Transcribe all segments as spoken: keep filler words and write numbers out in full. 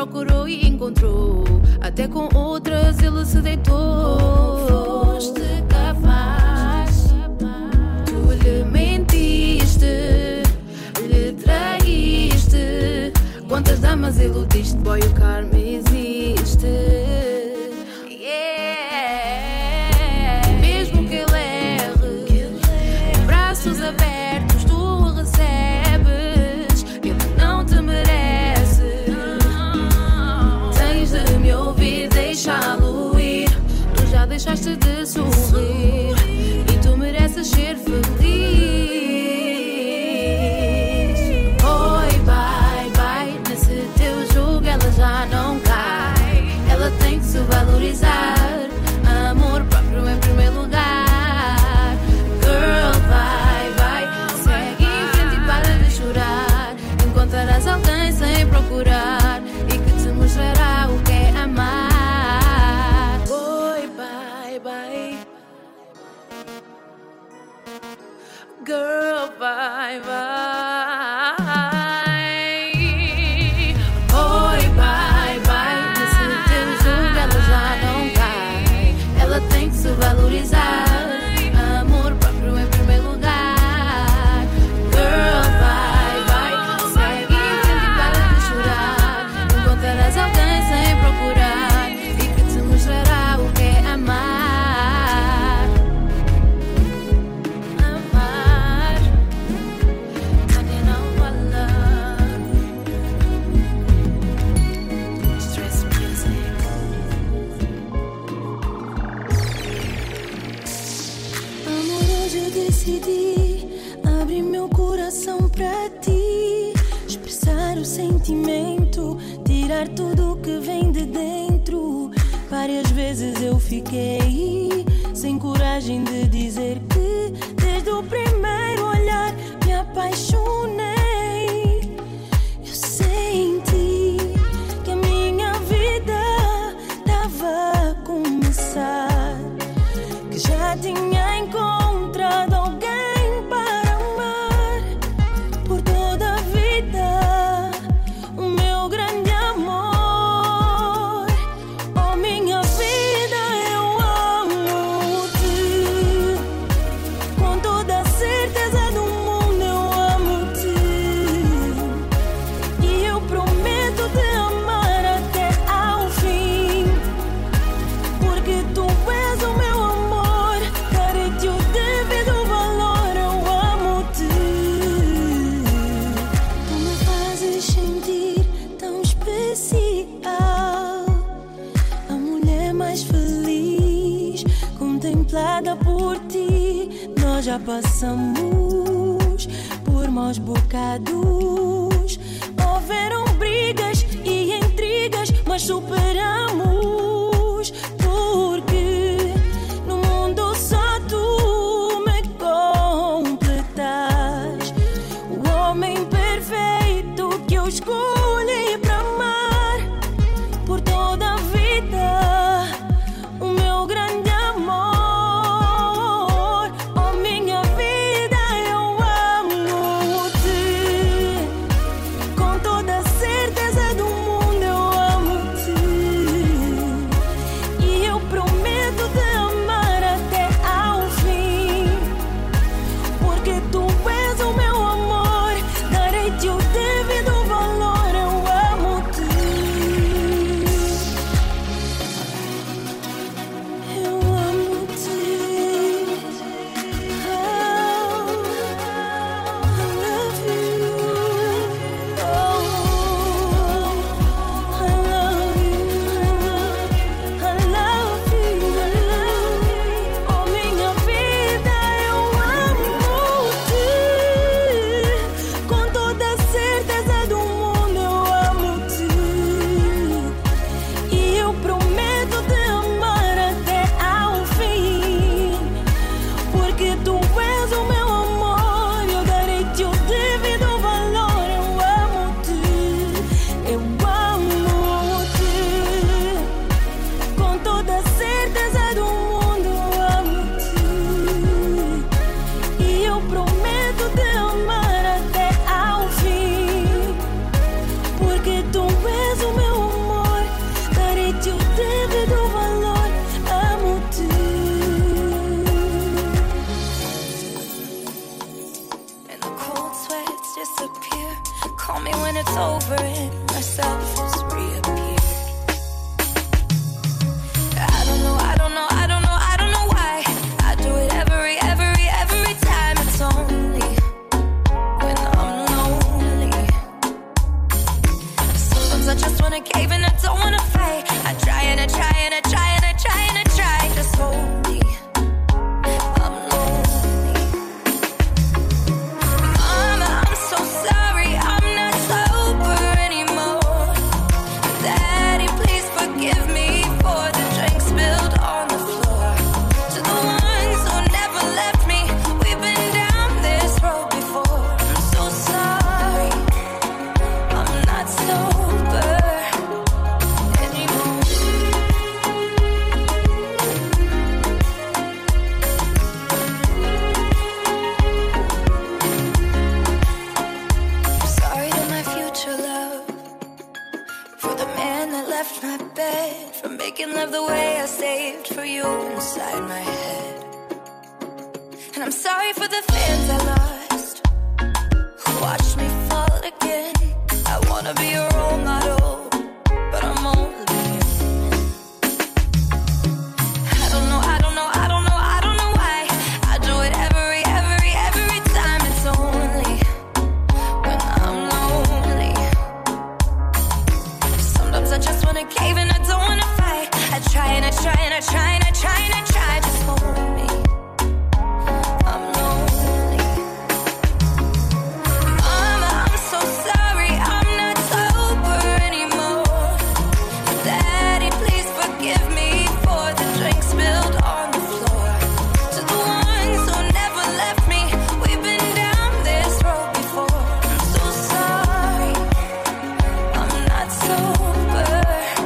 procurou e encontrou. Até com outras ele se deitou. Foste capaz, tu lhe mentiste, lhe traíste. Quantas damas iludiste, boy, o karma existe. Yeah. Mesmo que ele erre, braços abertos tu o recebes. Ele não te merece. Tens de me ouvir, deixá-lo ir. Tu já deixaste de sorrir e tu mereces ser feliz. Oi, bye, bye. Nesse teu jogo ela já não cai. Ela tem que se valorizar. Amor próprio em primeiro lugar. Girl, vai, vai. Segue em frente e para de chorar. Encontrarás alguém sem procurar e que te mostrará o que é amar. Oi, bye, bye. Girl, vai, vai. Oi, bye, bye. Nesse teu jogo ela já não cai. Ela tem que se valorizar. Amor próprio em primeiro lugar. Girl, vai, vai. Segue em frente e para de chorar. Encontrarás alguém sem procurar e que te mostrará o que é amar. Amar. Cadê não falar? Stress music. Amor, hoje eu decidi abrir meu coração pra ti, expressar o sentimento, tirar tudo que vem de dentro. Várias vezes eu fiquei sem coragem de dizer que desde o primeiro olhar me apaixonei. Eu senti que a minha vida estava a começar, que já tinha encontrado alguém para amar por toda a vida, o meu grande amor. Oh, minha vida, eu amo-te, com toda a certeza do mundo eu amo-te, e eu prometo te amar até ao fim, porque tu és o meu amor, darei-te o devido valor, eu amo-te. Tu me fazes sentir tão especial, a mulher mais feliz, contemplada por ti. Nós já passamos por maus bocados, houveram brigas e intrigas, mas superamos, porque no mundo só tu me completas, o homem perfeito que eu escolhi para amar por toda a vida, o meu grande amor. Oh, minha vida, eu amo-te, com toda a certeza do mundo eu amo-te, when it's over and myself has reappeared. I don't know, I don't know, I don't know, I don't know why I do it every, every, every time. It's only when I'm lonely. Sometimes I just wanna cave and I don't wanna fight. I try and I try and I try and I try and I try. Just hold me. Love the way I saved for you inside my head. And I'm sorry for the fans I lost who watched me fall again. I wanna be a role model, but I'm only human. I don't know, I don't know, I don't know, I don't know why I do it every, every, every time. It's only when I'm lonely. Sometimes I just wanna cave and I don't wanna fight. I try and I try and I try and I try and I try. Just hold me. I'm lonely. Mama, I'm so sorry. I'm not sober anymore. Daddy, please forgive me for the drink spilled on the floor. To the ones who never left me, we've been down this road before. I'm so sorry. I'm not sober.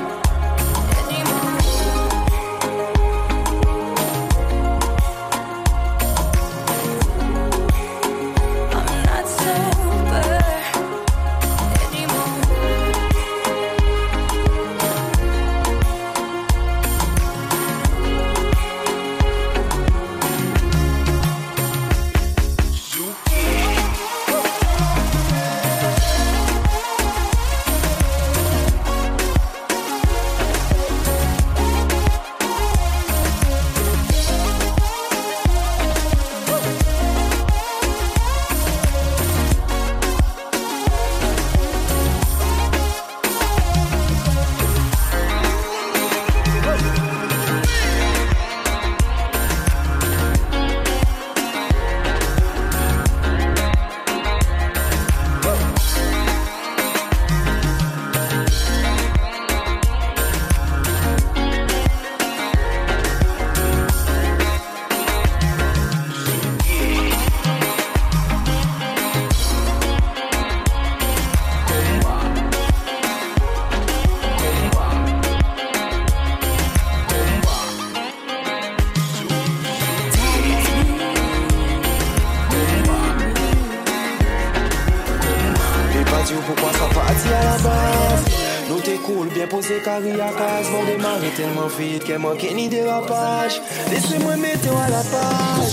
Carré à case, vont démarrer tellement vite qu'elle manquait ni dérapage. Laissez-moi mettre à la page.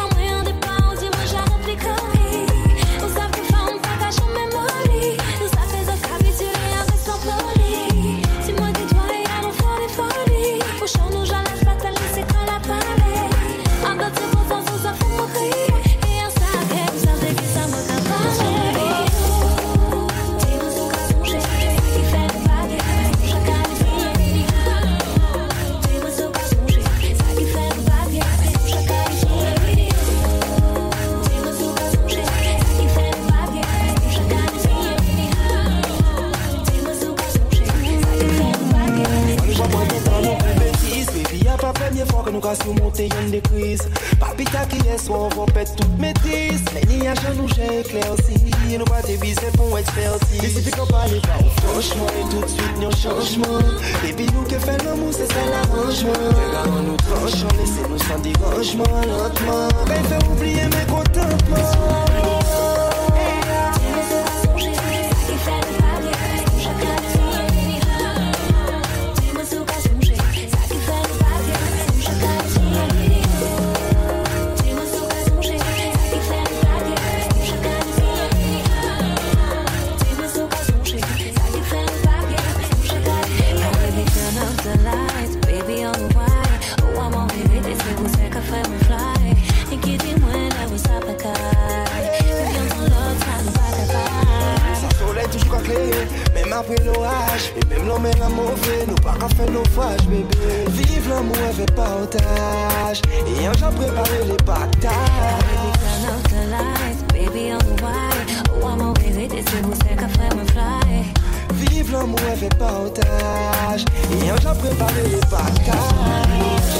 Os à surmonter une des crises. Papita qui est soit on va pète toute maîtrise. Mais ni à genoux j'ai éclairci. Nous pas déviser pour expertise. Il suffit qu'on parle pas franchement et tout de suite nous changement. Baby nous qui fait l'amour c'est ça l'arrangement. Regarde nous tranchons, laissez-nous sans dérangement lentement. Ben fait oublier mes contentements. Même après l'orage, et même l'homme est la mauvaise, nous pas qu'à faire naufrage, bébé. Vive l'amour avec partage, et un jour préparer les pactages. Vive l'amour avec partage, et un jour préparer les pactages.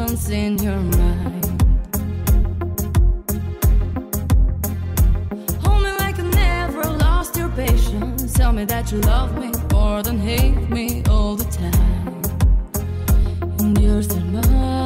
once in your mind. Hold me like I never lost your patience. Tell me that you love me more than hate me all the time. And you're still mine.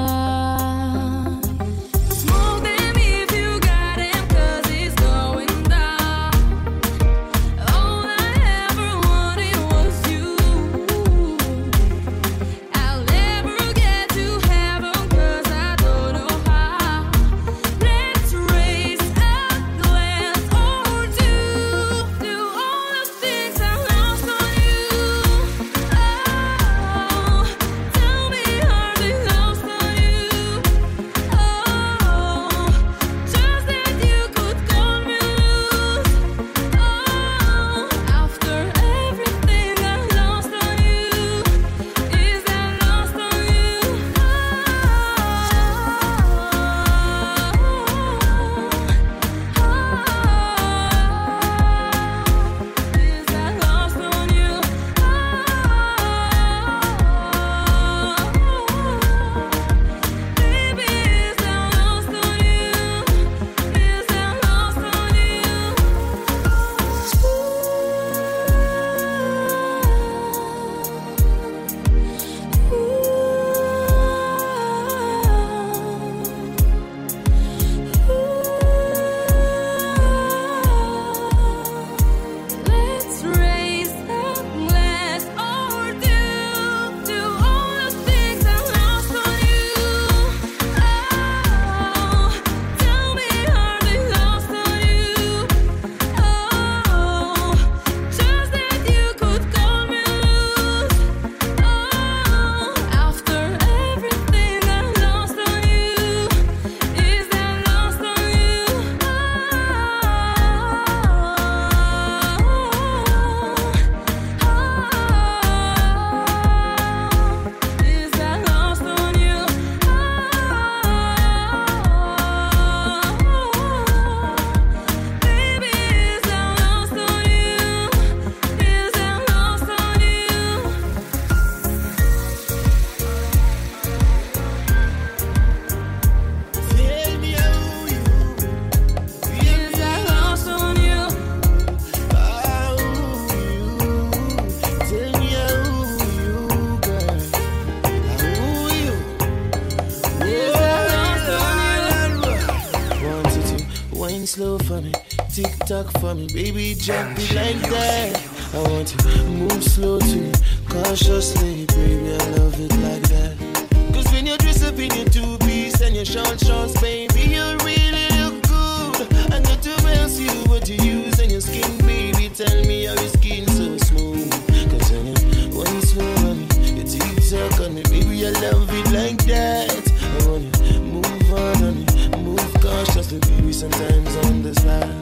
For me, baby, jump it like that. I want you to move slow to me, cautiously, baby, I love it like that. Cause when you dress up in your two-piece and your short shorts, baby, you really look good. And not to else you what you use on your skin, baby, tell me how your skin so smooth. Cause when you when you slow on me, you tick-tock on me, baby, I love it like that. I want you to move on on me, move cautiously, baby, sometimes on the slide.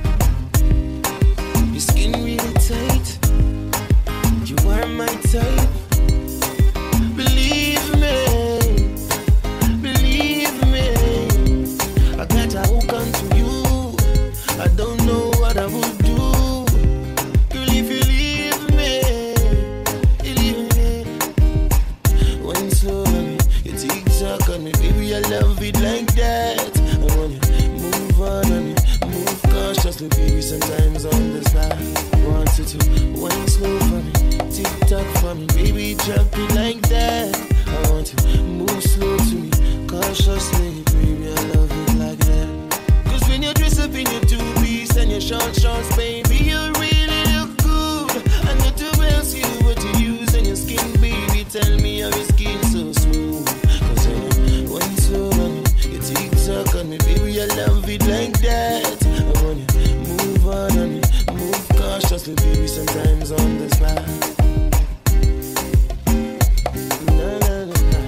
Your skin really tight. You are my type. Believe me, believe me. I got a hook onto you. I don't know what I would do. Girl, if you leave me, you leave me. When you slow on me, you tick-tock on me, baby, I love it like that. I want you to move on on me, move cautiously, baby, sometimes on the slide. Want you to wine slow for me, tick-tock for me, baby, drop it like that. I want you to move slow to me, cautiously, baby, I love it like that. Cause when you dress up in your two-piece and your short shorts, baby, you really look good. And not to else you what you use on your skin, baby, tell me how your skin so smooth. Cause when you wine slow on me, you tick-tock on me, baby, I love it like that. I want you to move on on me, move cautiously, baby, sometimes on the slide. Na, na, na, na.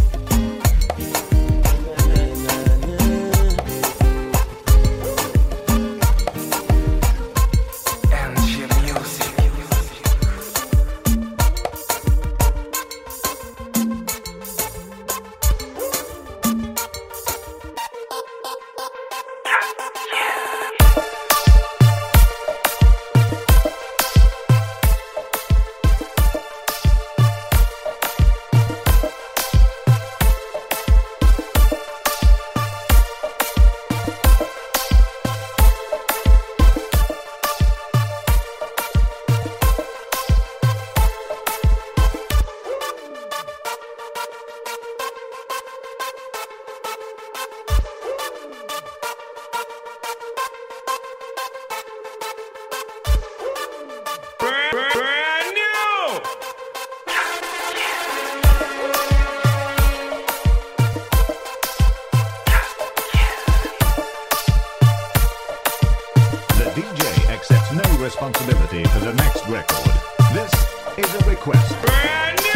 Na, na, na, na. D J accepts no responsibility for the next record. This is a request. Brand new!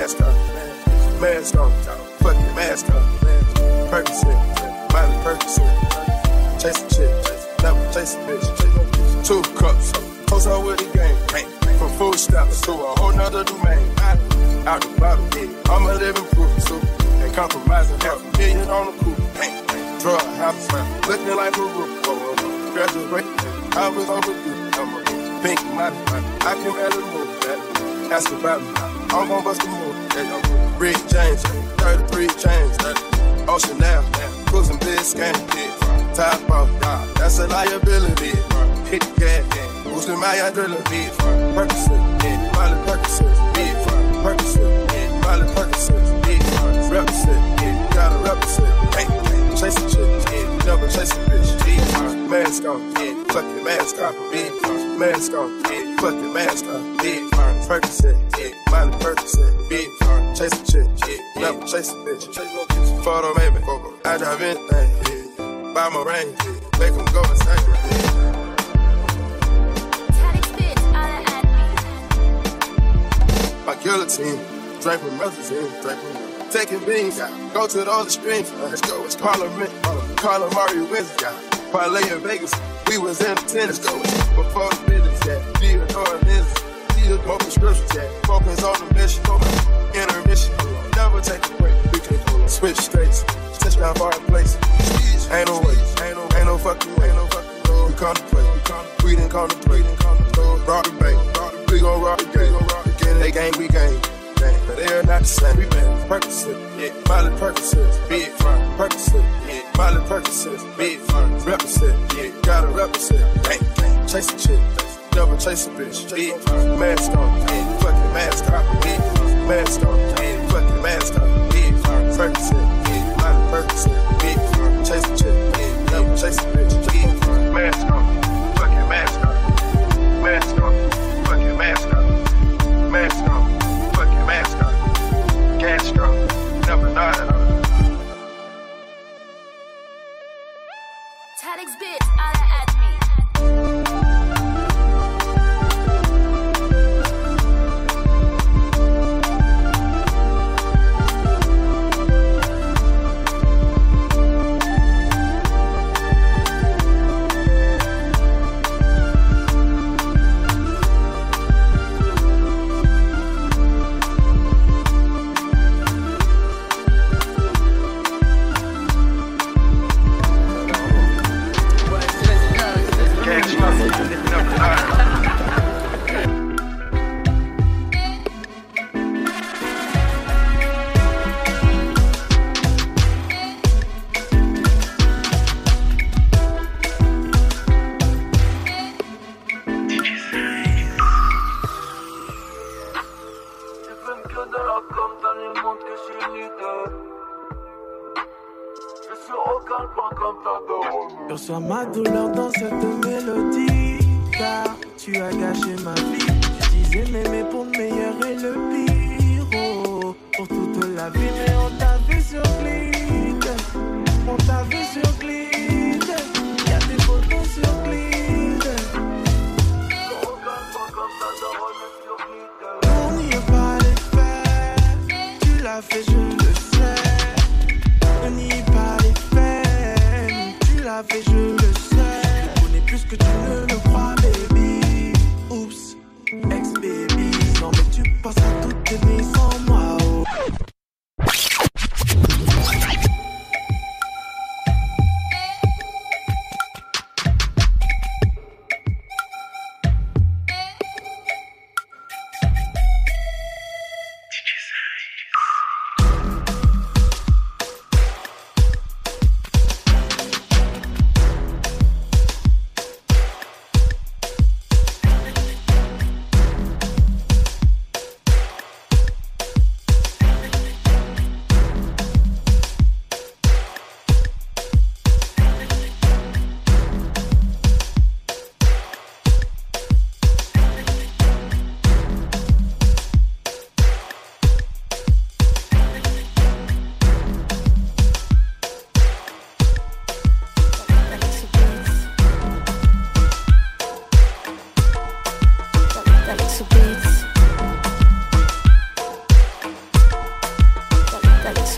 mask on, mask on, fuck your mask on. Percocet, Miley Percocet, chase a chick, never chase a bitch. Two cups, post out with the game, from food stops to a whole nother domain. Out the bottle, I'm a living proof, so ain't compromising, half a million on the coupe. Drug house, looking like a roof. Graduate, I was overdue. I'm a pink money, I can barely move that. Ask about me, I'm gon' bust a move. Rick James, thirty-three chains, Ocean now, cruising Biscayne, top off, that's a liability. Hit the gas, boosting my adrenaline. Percocet, Miley Percocet, Percocet, Miley Percocet, represent, gotta represent. Chase a chick, never chase a bitch. Mask on, fuck your mask off, mask on, fuck your mask off. Percocet, Miley Percocet, chase a chick, never chase a bitch. Photo baby, I drive anything, buy my range, make them go insane. My guillotine, drink with melazine, drink with taking beans, go to all the streams, let's go, it's Parliament, Carla Mario wins, parlay in Vegas, we was in the tennis, go, before the business, yeah, Theodore and business, Theodore, more prescriptions, yeah, focus on the mission, intermission, never take a break, we can switch states, touchdown far in place, ain't no way, ain't no, ain't no fucking way, ain't no fucking way, we contemplate, we didn't contemplate, rock the bank, we gon' rock the game, they gang, we gang. But they're not the same. We been Percocet, yeah, Miley Percocet, big fun. Percocet, yeah, Miley Percocet, big fun. Represent, yeah, gotta represent. Bang, bang, chase a chick, never chase a bitch. Big fun, mask on, yeah, fucking mask on, big fun, mask on, yeah, fucking mask on, big fun. Percocet, yeah, Miley Percocet, big fun. Chase a chick, yeah, never chase a bitch. Big fun, mask on, fucking mask on, mask on, fucking mask on, mask on. Mask on, Castro, never not at all. Tadix bitch, holla at me. Reçois ma douleur dans cette mélodie, car tu as gâché ma vie. Tu disais m'aimer pour le meilleur et le pire, oh, pour toute la vie. Mais on t'a vu sur Glide, on t'a vu sur Glide, y'a des photos sur Glide. On n'y a pas les faire, tu l'as fait, je le sais. On n'y a pas les faire, tu l'as fait, je le sais. Tu connais plus que tu ne le crois, baby. Oups, ex-baby. Non mais tu passes à toutes tes nuits sans moi, oh.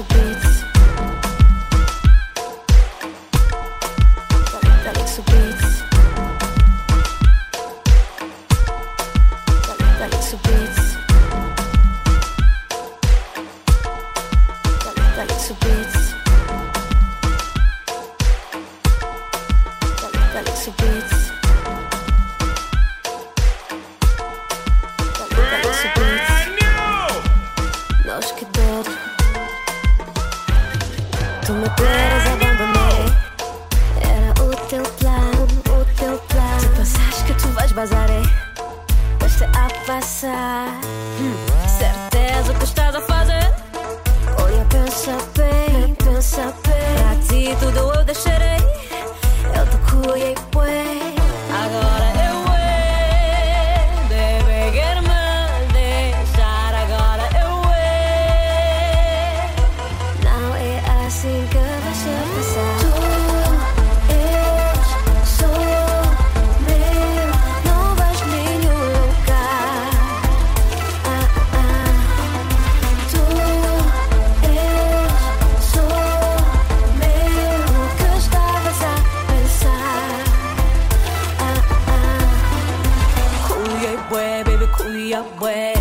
Galaxy Beats. Galaxy Beats. Galaxy Beats. Galaxy Beats. Galaxy Beats. Galaxy Beats. Nós que dor. Tu me queres abandonar. Era o teu plano, o teu plano. Se pensares que tu vais bazar, vais-te a passar. hum. Certeza que estás a fazer. Olha, pensa bem, pensa bem. Pra ti tudo eu deixarei. Eu te cuidei bem. Agora eu é, deve querer-me deixar. Agora eu é. Não é assim que vai se passar. Tu és só meu, não vais nenhum lugar. Ah, ah. Tu és só meu, o que estavas a pensar. Ah, ah. Cuia bué, baby, cuia bué.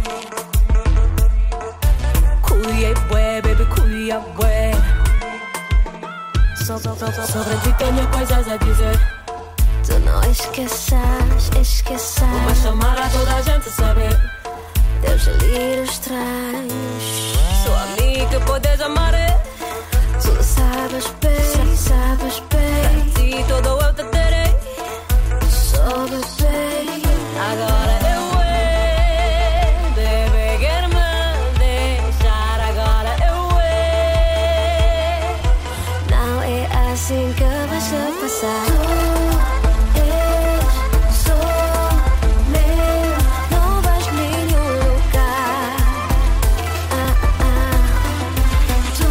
Cuia bué, baby, cuia bué. So, so, so, so. Sobre ti tenho coisas a dizer. Tu não esqueças, esqueças. Vou chamar a toda a gente saber. Teus delírios estranhos. Sou a mim que podes amar. Tu sabes bem, sabes bem. Pra ti todo eu te terei. Soube bem. Agora eu é, deve querer-me deixar. Agora eu é. Não é assim que vai se passar. Tu és só meu, não vais nenhum lugar. Ah, ah. Tu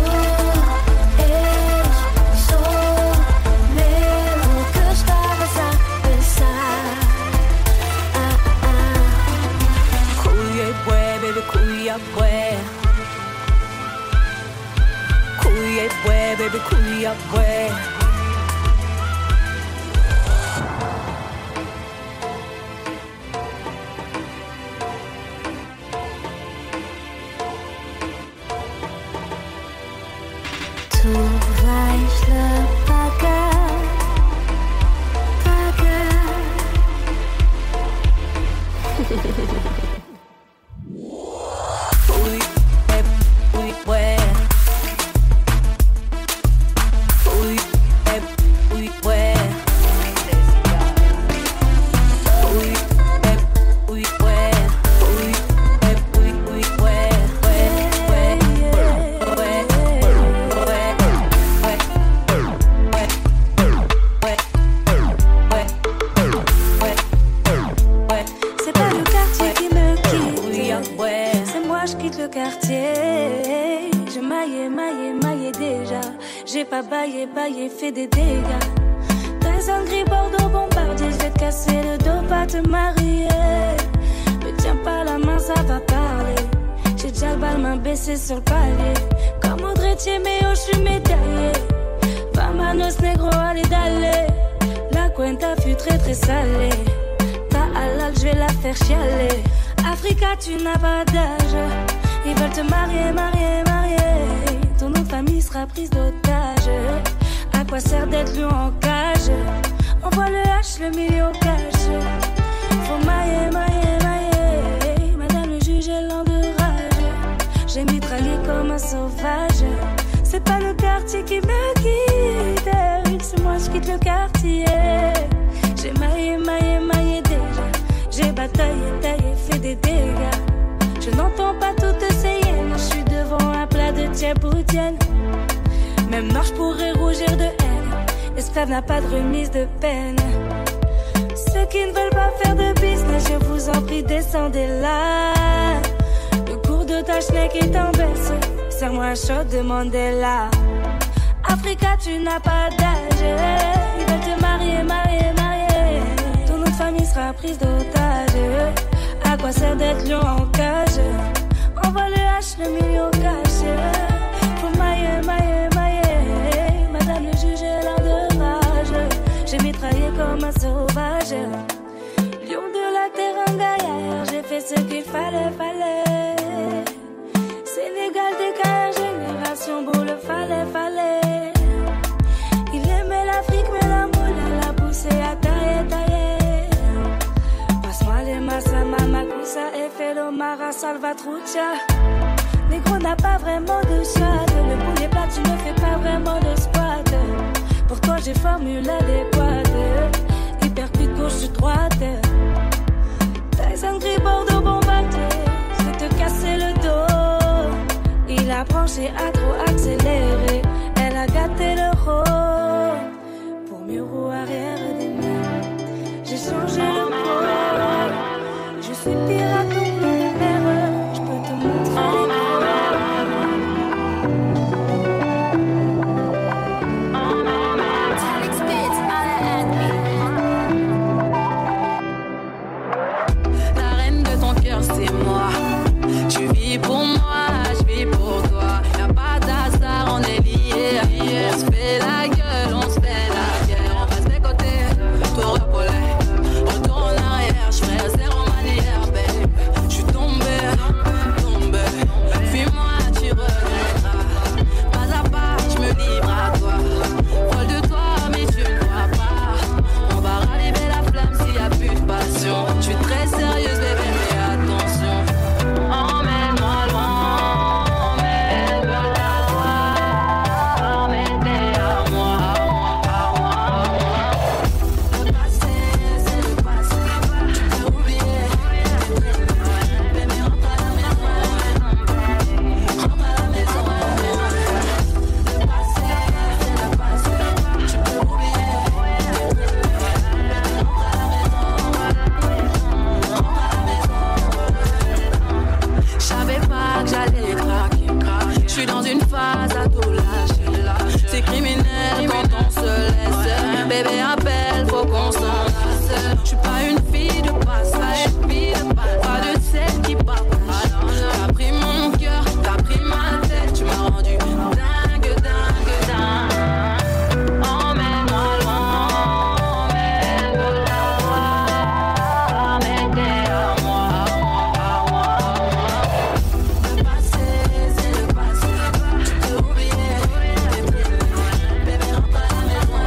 és só meu, o que estavas a pensar. Ah, ah. Cuia bué, baby, cuia bué. Cuia bué, baby, cuia bué. Tu vais lhe pagar, pagar. Ui, é, ui, ué. Ui, é, ui, ué. Ui, é, ui, ué. Ui, é, ui, ui, ué. Ué, ué, ué, ué, ué. C'est pas le quartier qui me quitte, c'est moi je quitte le quartier. Je maillais, maillais, maillais déjà. J'ai pas baillé, baillé, fait des dégâts. Très gris Bordeaux bombardier, je vais te casser le dos, pas te marier. Me tiens pas la main, ça va parler. J'ai déjà le bal, main baissée sur le palier. Comme Audrey mais oh, je suis médaillé. Vamanos negro, allez d'aller. La cuenta fut très très salée. Ta halal, je vais la faire chialer. Africa, tu n'as pas d'âge. Ils veulent te marier, marier, marier. Ton nom de famille sera prise d'otage. À quoi sert d'être lion en cage? Envoie le H, le million cash. Faut mailler, mailler, mailler. Madame le juge est lent de rage. J'ai mitraillé comme un sauvage. C'est pas le quartier qui me quitte, c'est moi je quitte le quartier. J'ai maillé, maillé, maillé déjà. J'ai bataillé, taillé, fait des dégâts. Je n'entends pas toutes ces hyènes. Je suis devant un plat de tchèpoutienne. Même noir je pourrais rougir de haine. L'esclave n'a pas de remise de peine. Ceux qui ne veulent pas faire de business, je vous en prie descendez là. Le cours de ta schneck est en baisse. Serre-moi un shot de Mandela. Africa, tu n'as pas d'âge. Ils veulent te marier, marier, marier. Ton nom de famille sera prise d'otage. À quoi sert d'être lion en cage? Envoie le H, le million cash. Faut comme un sauvage. Lion de la terre, un gaillard, j'ai fait ce qu'il fallait, fallait. Sénégal des carrières, génération boule, fallait, fallait. Il aimait l'Afrique, mais la moula l'a poussé à tailler, tailler. Passe-moi les massa, mamakusa, et fais l'omara, salvatrucha. Négro n'a pas vraiment de choix. Le poulet plat, tu ne fais pas vraiment de squat. Pour toi, j'ai formule adéquate. Hyper cuite gauche, droite. Tyson gris, Bordeaux, bombardier. C'est te casser le dos. Il a branché à trop accéléré. Elle a gâté le rôle. Pour mieux roue arrière des mains. J'ai changé le pôle. Je suis pirate ou numéro. Je peux te montrer les c'est moi, tu vis pour moi, je vis pour toi. Y'a pas d'hasard, on est liés. On se fait la gueule, on se fait la guerre. On passe des côtés, tour de polais. Retour en arrière, je ferai zéro manière, babe. Je suis tombé, tombé. Fuis-moi, tu regretteras. Pas à pas, je me livre à toi. Folle de toi, mais tu ne vois pas. On va raviver la flamme s'il y a plus de passion. Je suis très sérieuse, bébé. Bébé appelle, faut qu'on s'enlace. Je suis pas une fille de passage, pas de celle qui partage. T'as pris mon cœur, t'as pris ma tête, tu m'as rendu dingue, dingue, dingue. Emmène-moi loin, emmène-moi loin, mais t'es à moi, à moi, à moi. Le passé, c'est le passé, tu peux oublier. Bébé, rentre à la maison.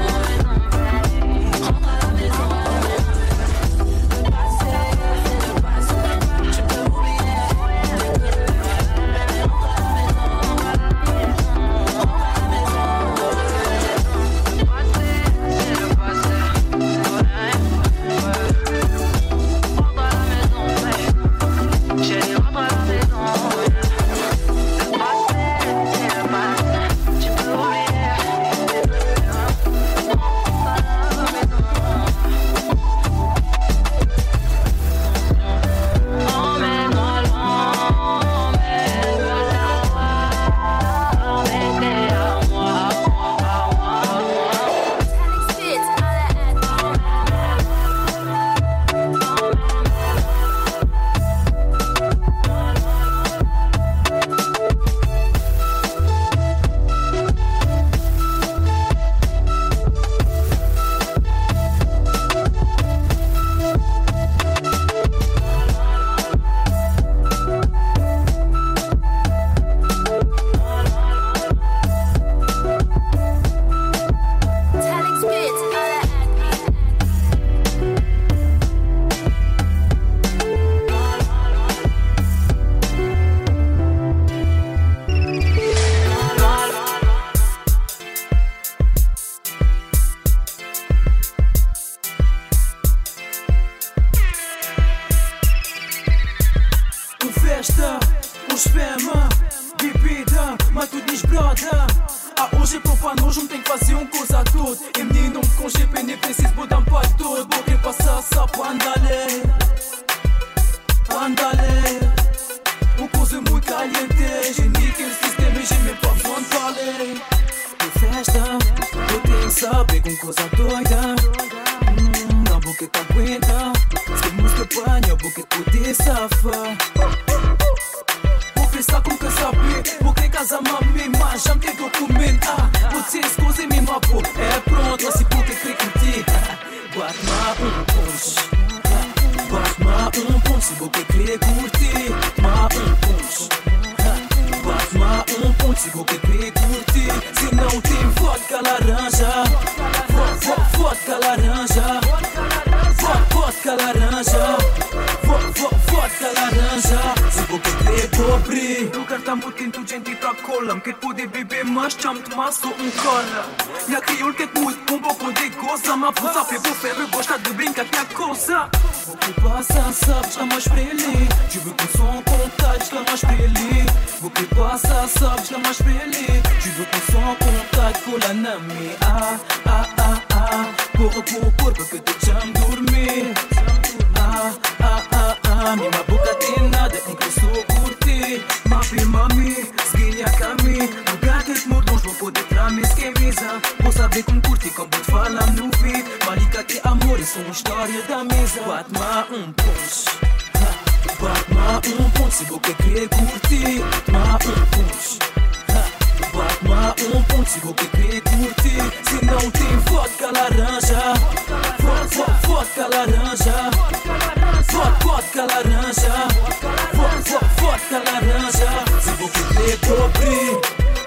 Bate-moi um punch, bate-moi um punch. Se você quer curtir, bate-moi um punch, bate-moi um punch. Se você quer curtir, se não tem vodka laranja, vodka laranja, vodka laranja, vodka laranja. Se você quer pobre, lugar tá muito inteligente e tá cola. Quer poder beber mais, chama-te maço um cola. E a crioulo quer muito com pouco de coisa. Mas você sabe, vou ferro, gosta de brincar que é coisa. O que passa, sabes, tá mais pra ele. Je veux qu'on s'en contacte, tá mais pra ele. O que passa, sabes, tá mais pra ele. Je veux qu'on s'en contacte, cola na me. Ah, ah, ah, ah. Corre por corpo que te chamo dormir. Ah, ah, ah, ah. Minha boca tem nada, em que eu sou curtir. Mapi, mami, seguia a caminho. Lugar que te mordons, vou poder trazer camisa. Vou saber como curtir, como te falar no vídeo. Malika que amor, isso é uma história da mesa. Bate-me um punch, bate-me um punch. Se você quer curtir, bate-me um punch, bate-me um punch. Se você quer curtir, se não tem vodka laranja, vodka laranja, vodka laranja, vodka laranja. Se você quer pobre,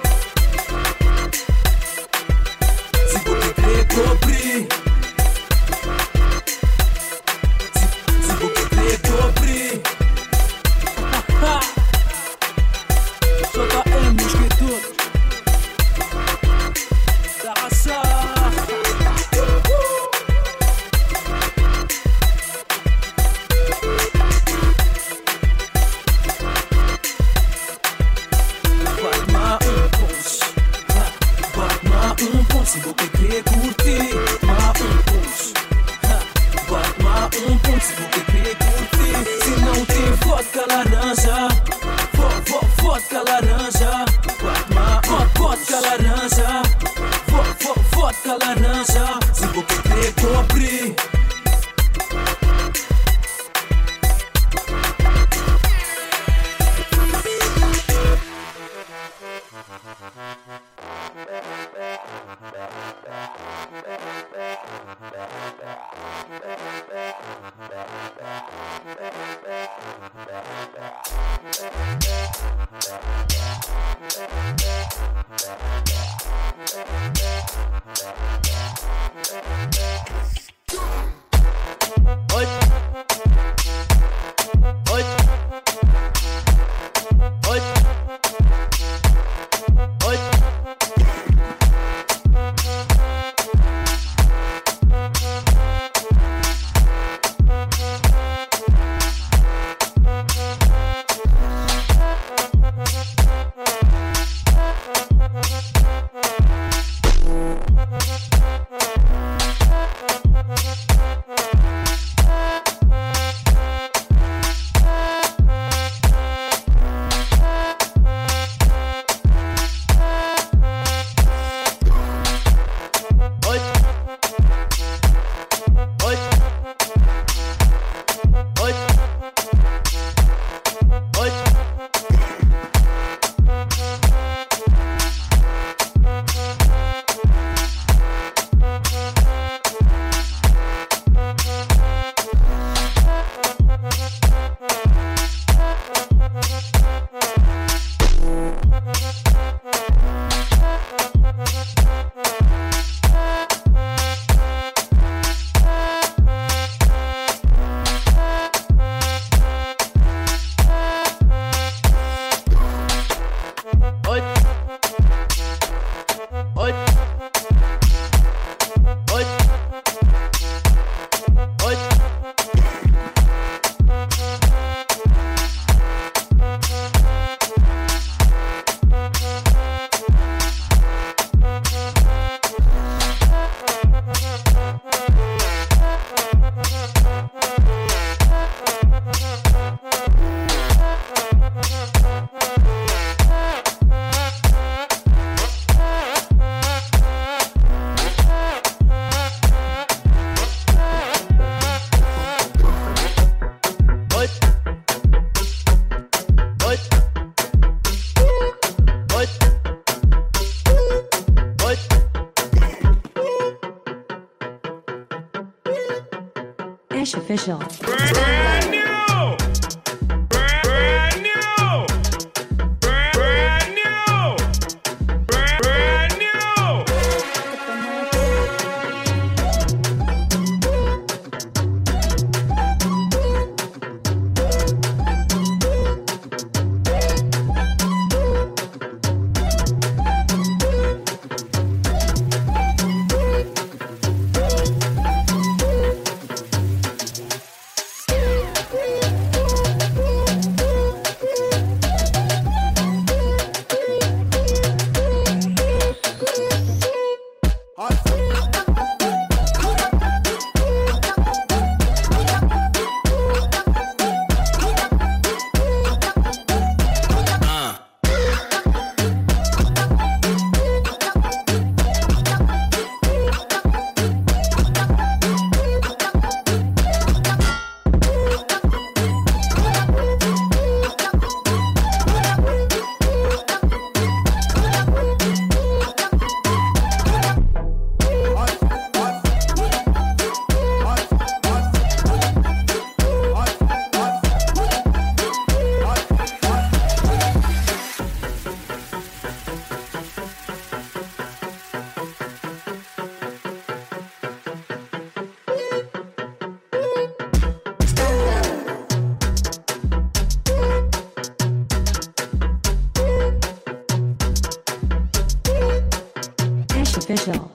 se você quer pobre, se você quer pobre. J M no escritor da raça. Se você quer curtir, bate um punch, bate-me um punch. Se você quer curtir, se não tem vodka laranja, vodka laranja, bate-me vodka laranja, vodka laranja. Se você quer pobre, Cash Official. Brand new! Brand, brand new! Brand, brand new! Brand, brand new! Cash Official.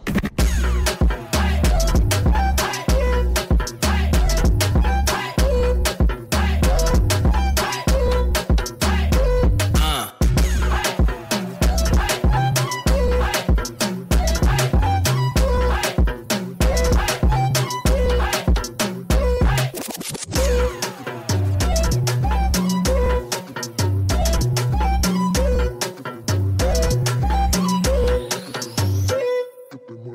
Stupid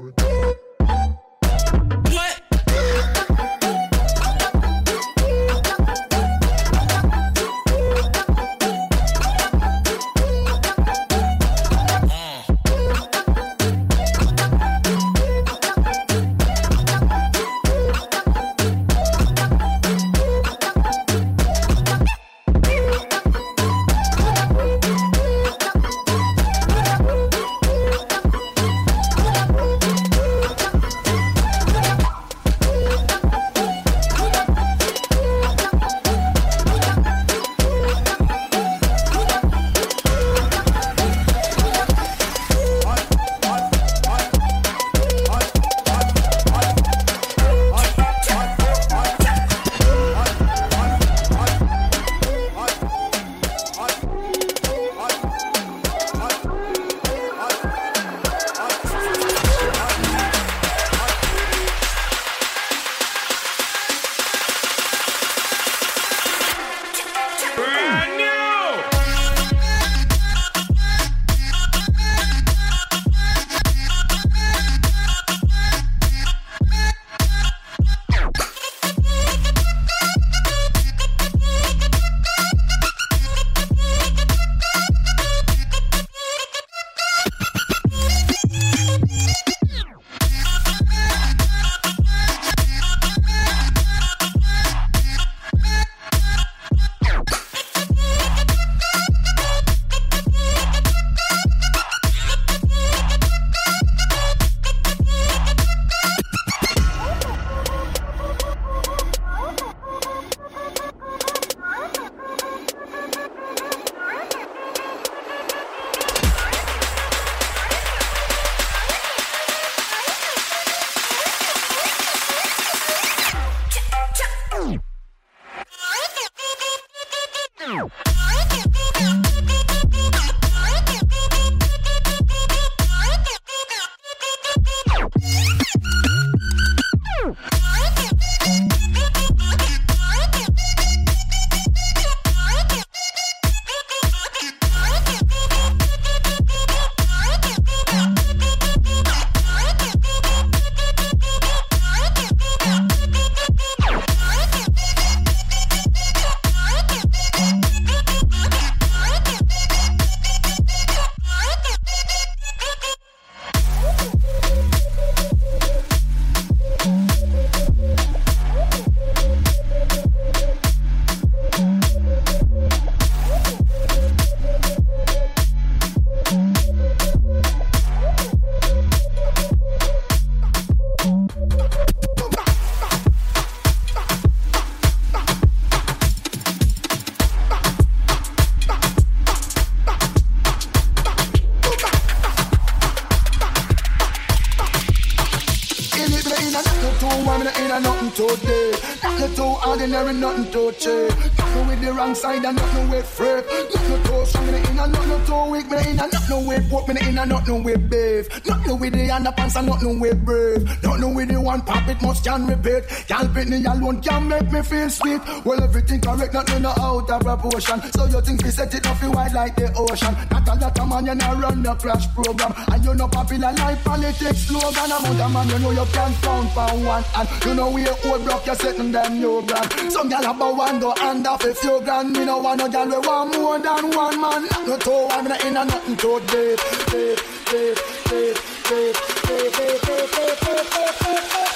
a nothing today. Nothing too ordinary, nothing too cheap. Nothing with the wrong side and nothing with frappe. Nothing too strong, me in a nothing too weak. Me in a nothing with pork, me in a nothing with beef. Nothing with the underpants and nothing with brave. Nothing with the one pop, it must can repeat. Y'all beat me alone can make me feel sweet. Well, everything correct, nothing no out of proportion. So you think we set it off you wide like the ocean. Not a lot of man, you not run the crash program. And you know popular like politics slogan. Amount of man, you know you can't count for one. And you know we old block, you're setting them new brand. Some gal about one go hand off a few grand. Me no want no gal we want more than one man. Nothing to I'm not in a nothing to date. Date, date, date, date, date, date, date, date, date, date.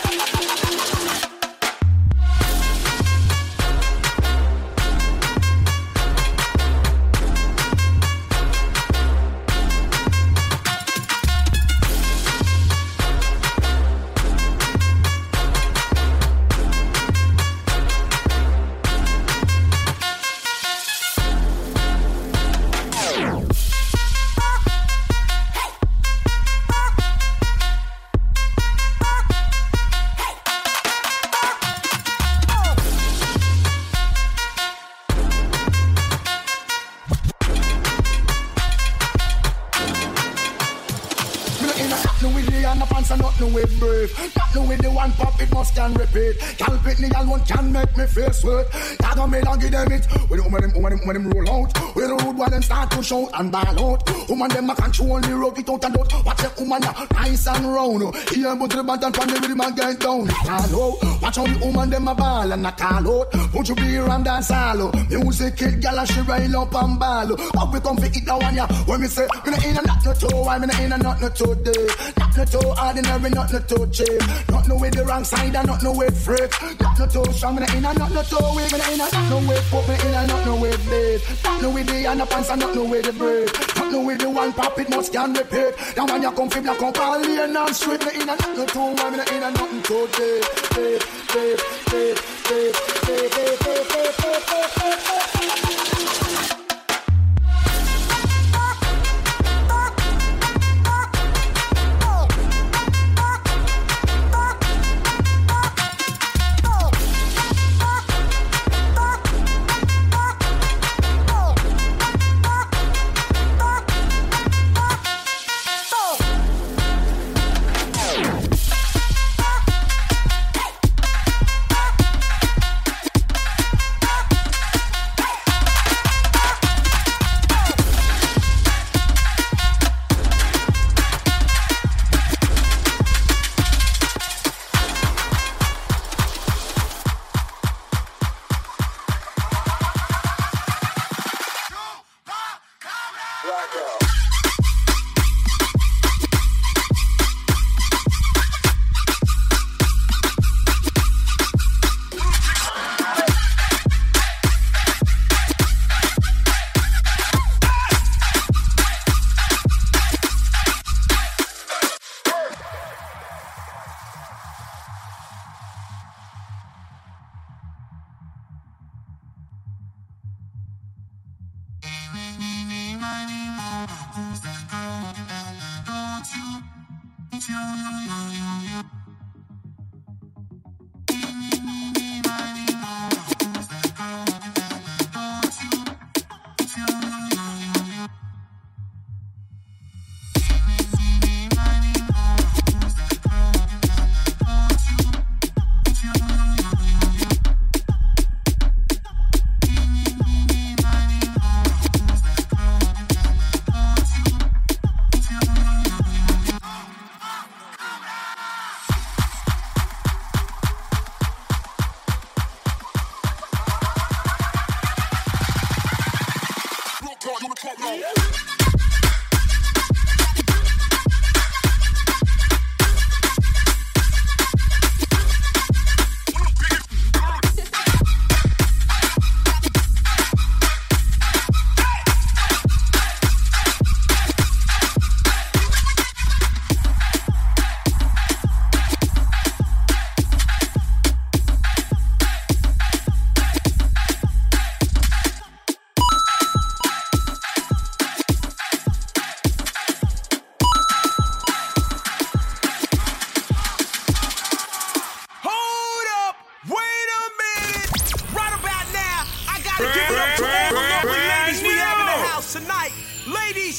Can repeat, y'all pit me, y'all one can make me feel sweat. Y'all gon' me give them it. When them, when them, when them, when them roll out, when the road while them start to shout and ball out. Woman them a control the road without a doubt. Watch them woman ya nice and round. Here but the band and pan the rhythm and get down. Call out, watch how the woman them a ball and a call out. Won't you be around dance hall? Music kill gyal and she rail up and ball. Up we come fi it down ya. When me say me no in a not no toe, I me no in a not no toe day. Not no toe ordinary, not no toe cheap. Not no with the wrong side and not no with freak. Not no toe strong, me no in a not no toe weak. Me no in a not no with pop, me in a not no with beef. Not no with the underpants and not no with the brave. Not no with the one pop, it must can repeat. Now when you come fi black up all lane and street, me in a not no toe, me no in a nothing toe day. Day, day, day, day, day, day, day, day, day, day, day.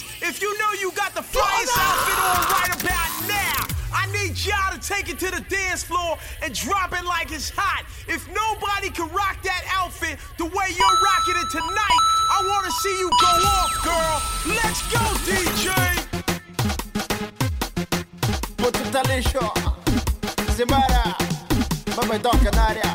ladies, if you know you got the flyest outfit on right about now, I need y'all to take it to the dance floor and drop it like it's hot. If nobody can rock that outfit the way you're rocking it tonight, I want to see you go off, girl. Let's go, D J. Put the talisho, Zimara, Mama Doc Canaria.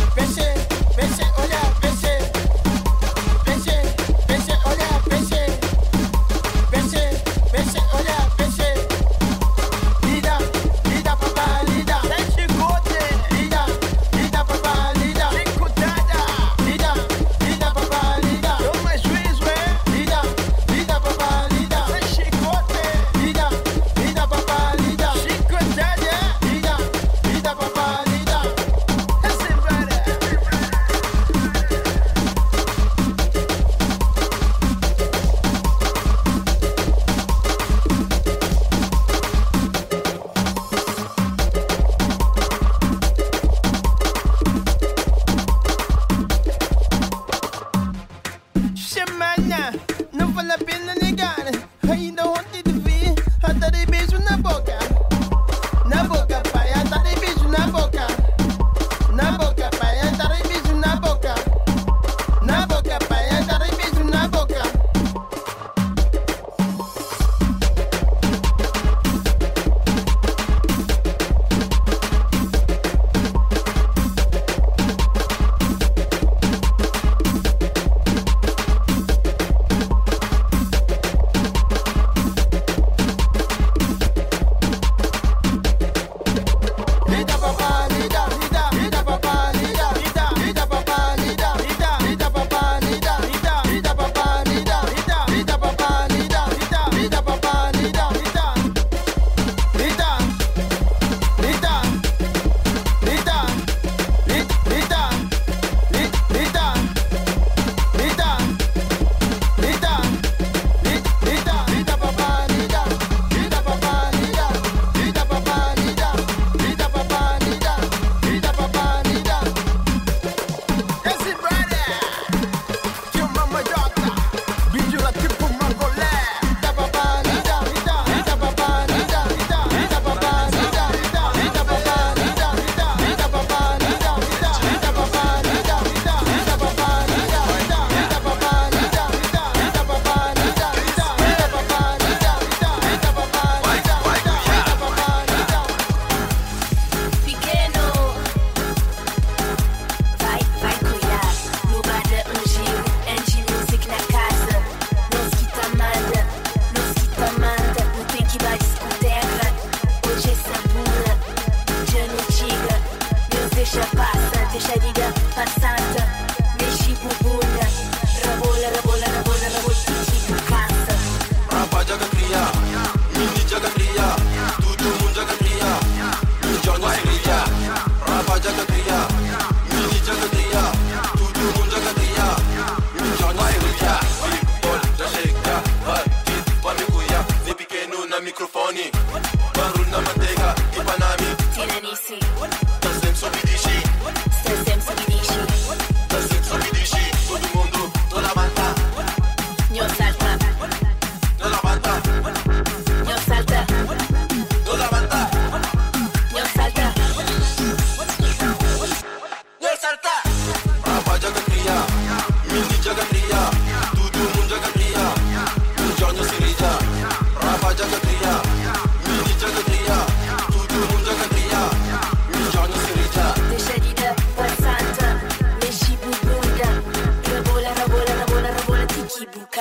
Olha,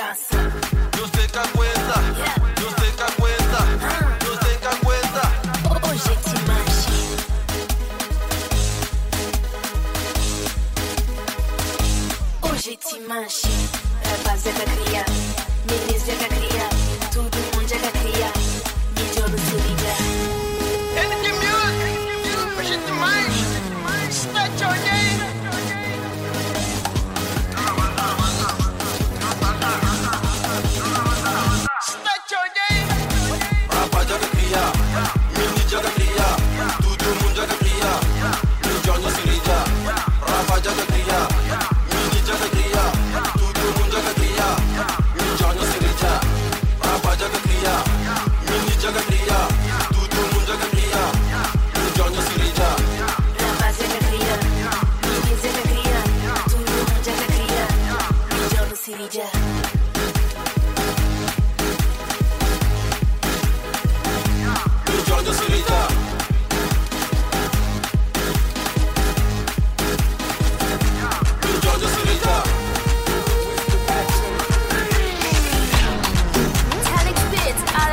Yo sei que aguenta, yo sei que aguenta, yo sei que aguenta. Hoje te manche. Hoje te manche. Rapaziada cria, meninas já cria, todo mundo já cria. Mídia no se liga. Energy music, hoje te manche. Start your game. Joga cria, mini joga cria, todo mundo joga cria, no Johnny se liga. Rafa joga cria, mini joga cria, todo mundo joga cria, no Johnny se liga. Rafa joga cria, mini joga cria, todo mundo joga cria, no Johnny se liga. Rafa joga cria, mini joga cria, todo mundo joga cria, no Johnny se liga. Johnny se liga. Johnny se liga. Alex Bits, alla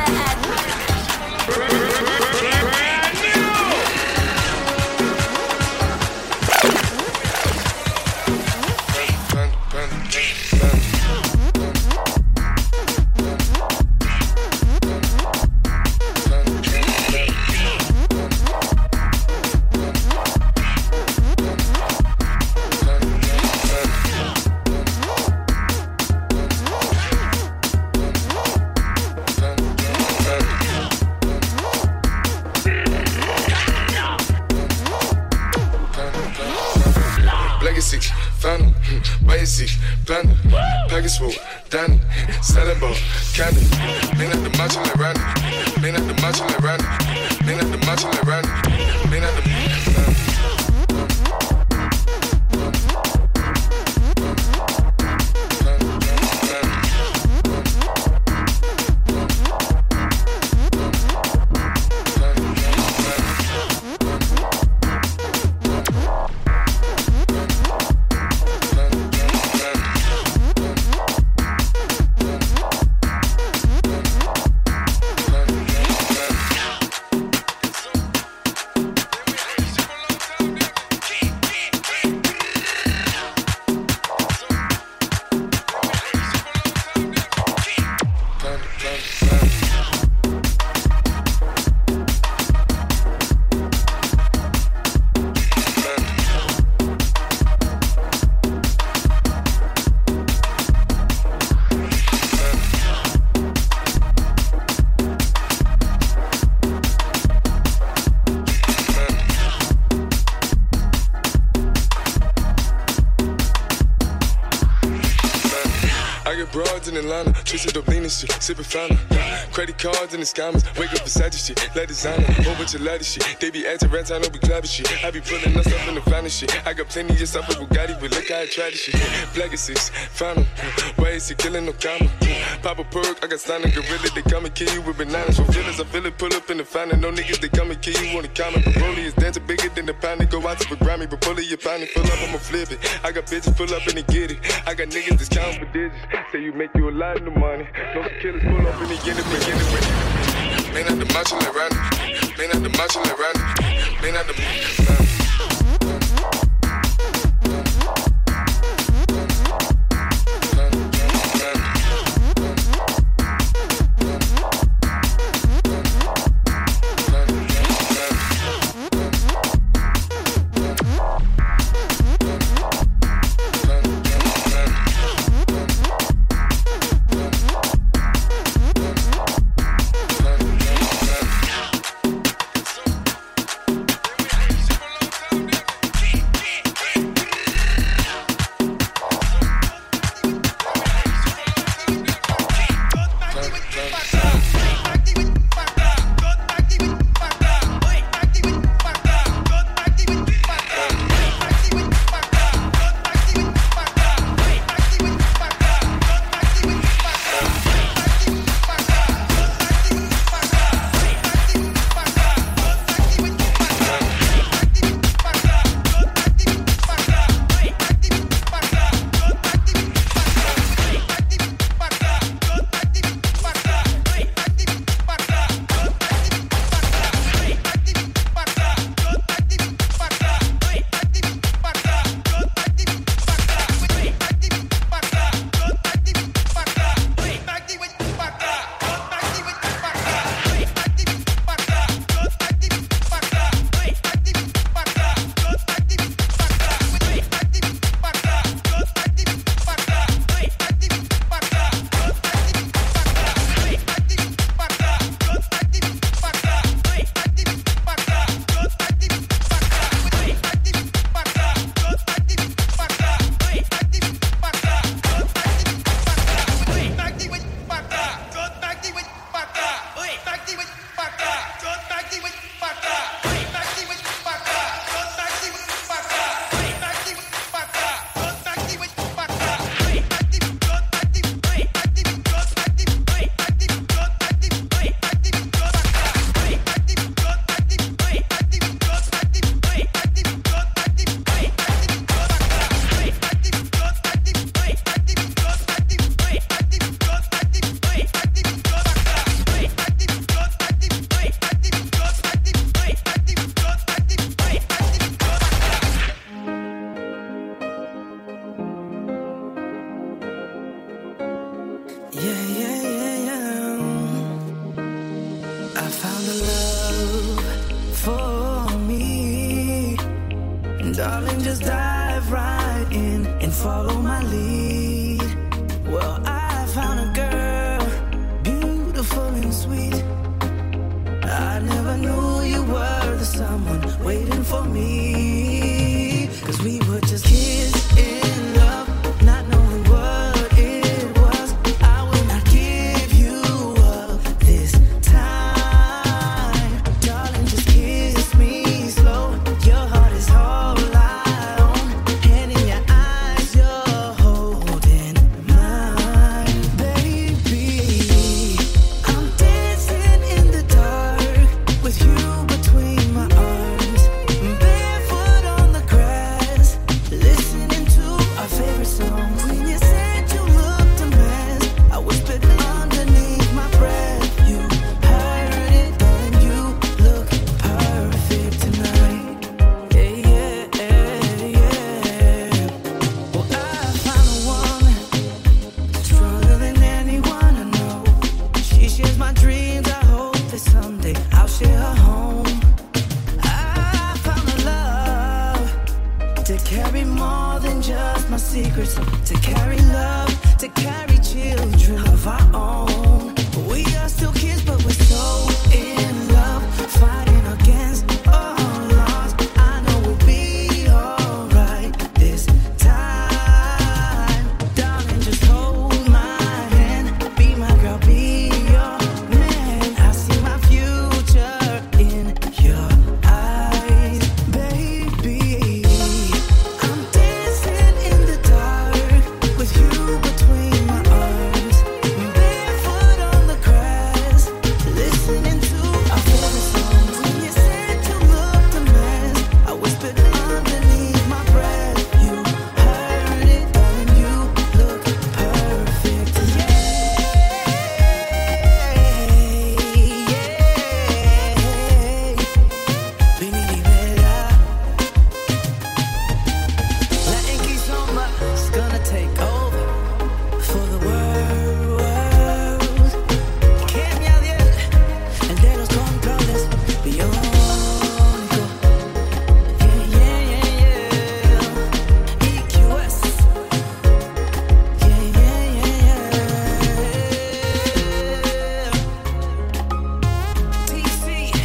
Danny, selling ball, candy. Lean at the macho like Randy. Lean at the macho like Randy. Lean at the macho like Randy. Lean at the in Atlanta, twisted up lean and shit, sippin' fountain. Credit cards and the scammers, wake up beside this shit, let designer, whole bunch of lattice shit. They be acting rats, I know we clapping shit. I be pulling us up in the finest shit. I got plenty of stuff with Bugatti, but look how I try this shit. Black is six, found him. Why is he killing no comma? Pop a perk, I got signed a gorilla, they come and kill you with bananas. For feelings, I feel it, pull up in the fountain. No niggas, they come and kill you on the comment. But Broly is dancing bigger than the pound. They go out to the Grammy, but pull it, your pound, pull up, I'ma flip it. I got bitches, pull up and they get it. I got niggas that's counting for digits. Say you make you a lot of the money. No killers pull up and they get it, they get it. Man at the macho like Randy. Man at the macho like Randy. Man at the macho. Darling, just dive right in and follow my lead. Well, I found a girl, beautiful and sweet. I never knew you were the someone waiting for me. Cause we were just kids in love, not knowing what it was. I will not give you up this time. Darling, just kiss me slow. Your heart is all I own, and in your eyes you're holding mine. Baby, I'm dancing in the dark with you between my arms, barefoot on the grass, listening to our favorite song. When you said you looked a mess, I whispered underneath my breath. You heard it, and you look perfect tonight. Yeah, yeah, yeah. Well, I found a woman stronger than anyone I know. She shares my dreams. I hope that someday I'll share her home. I found a love to carry more than just my secrets, to carry love, to carry children of our own. We are still kids, but we're so in love, fighting against all odds. I know we'll be alright this time. Darling, just hold my hand, be my girl, be your man. I see my future in your eyes, baby. I'm dancing in the dark with you between my arms, barefoot on the grass, listening to our favorite songs. When you said you looked a mess, I whispered underneath my breath. You heard it, darling, you look perfect. Yeah, yeah. Vini Rivera. Latin Kizomba is gonna take over for the world. Cambia Diel, el de los controles biónico. Yeah, yeah, yeah, yeah. E Q S. Yeah, yeah, yeah, yeah. T C.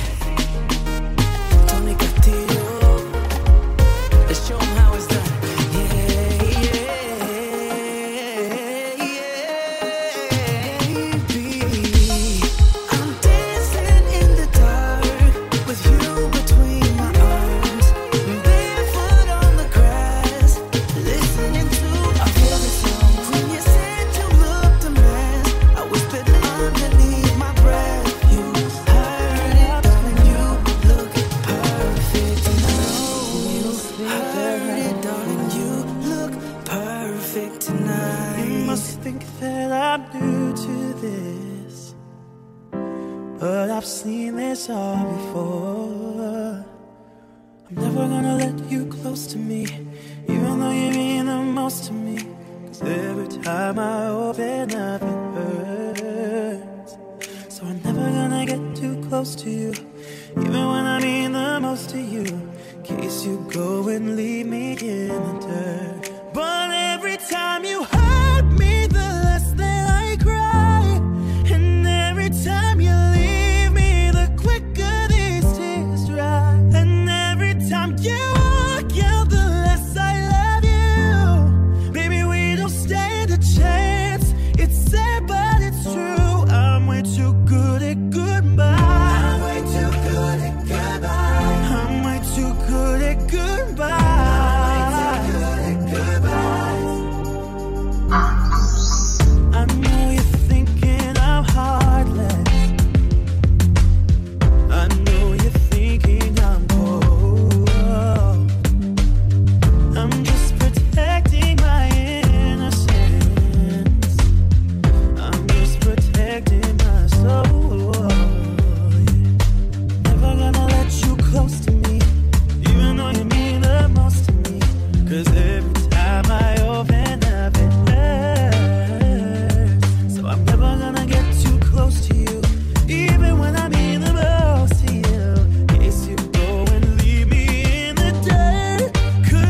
Tony Castillo. Let's show 'em how it's done. Yeah, yeah, yeah, baby. I'm dancing in the dark with you between my arms, barefoot on the grass, listening to our favorite song. When you said you looked a mess, I whispered underneath my breath. You heard it, darling, you look perfect tonight. You heard it, darling, you look perfect tonight. You must think that I'm new to this, but I've seen this all before. I'm never gonna let you close to me, even though you mean the most to me. Cause every time I open up it hurts. So I'm never gonna get too close to you, even when I mean the most to you. In case you go and leave me in the dirt. But every time you hurt me, the less that I cry. And every time you leave me, the quicker these tears dry. And every time you walk out, the less I love you. Baby, we don't stand a chance. It's sad, but it's true. I'm way too good at goodbye. I'm way too good at goodbye. I'm way too good at goodbye. I know you're thinking I'm heartless. I know you're thinking I'm cold. I'm just protecting my innocence. I'm just protecting my soul. Never gonna let you close to me, even though you mean the most to me. Cause every time I open up it hurts. So I'm never gonna get too close to you, even when I mean the most to you. In case you go and leave me in the dirt.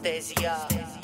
Stasia.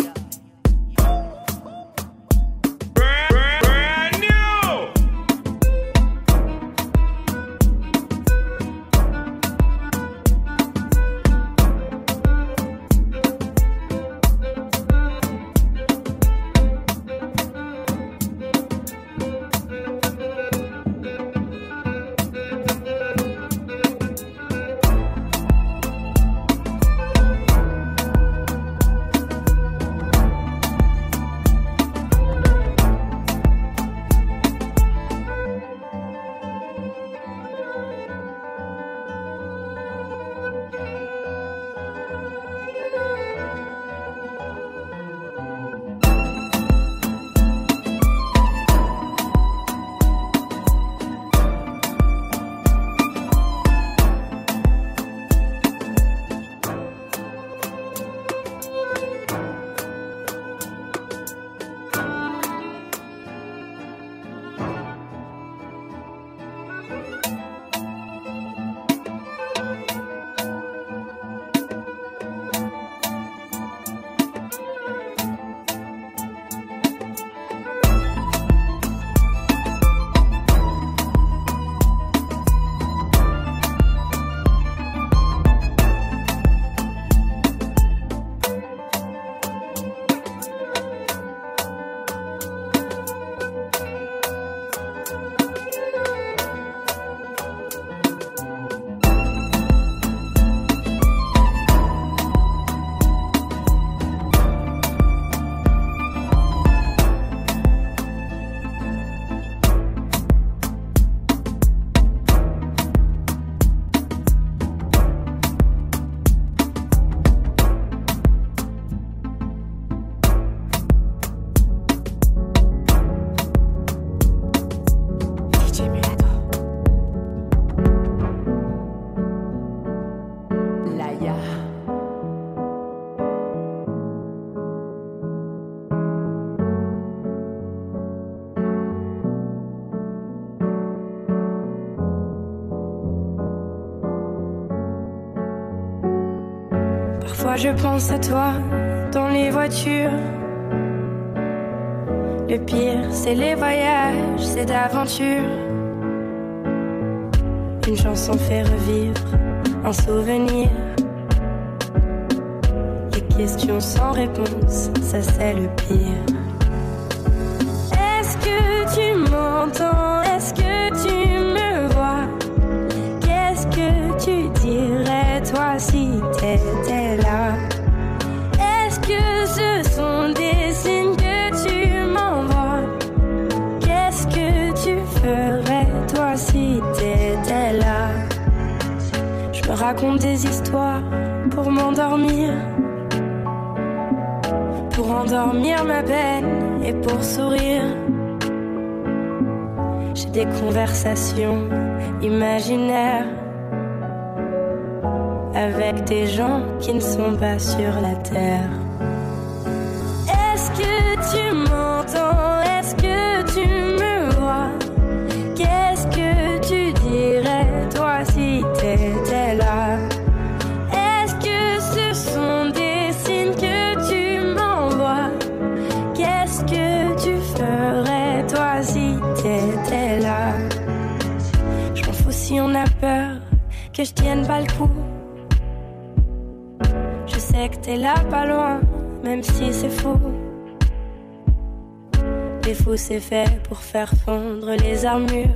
Parfois je pense à toi dans les voitures. Le pire c'est les voyages, c'est d'aventure. Une chanson fait revivre un souvenir. Les questions sans réponse, ça c'est le pire. Est-ce que tu m'entends? Est-ce que tu me vois? Qu'est-ce que tu dirais toi si t'étais là? Est-ce que ce sont des signes que tu m'envoies? Qu'est-ce que tu ferais toi si t'étais là? Je me raconte des histoires pour m'endormir, pour endormir ma peine et pour sourire. J'ai des conversations imaginaires avec des gens qui ne sont pas sur la terre. Est-ce que tu m'entends? Est-ce que tu me vois? Qu'est-ce que tu dirais toi si t'étais là? Est-ce que ce sont des signes que tu m'envoies? Qu'est-ce que tu ferais toi si t'étais là? Je m'en fous si on a peur que je tienne pas le coup. Je sais que t'es là pas loin, même si c'est fou. Les fous c'est fait pour faire fondre les armures,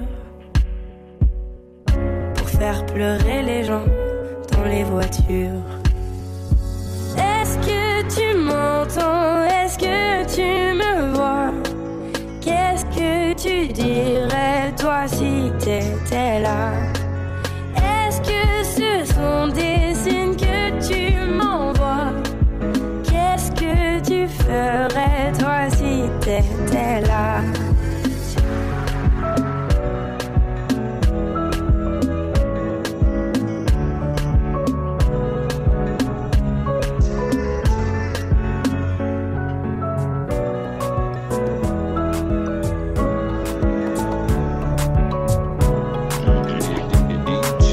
pour faire pleurer les gens dans les voitures. Est-ce que tu m'entends? Est-ce que tu me vois? Qu'est-ce que tu dirais toi si t'étais là? Est-ce que ce sont des signes que tu m'envoies? Qu'est-ce que tu ferais toi si t'étais là?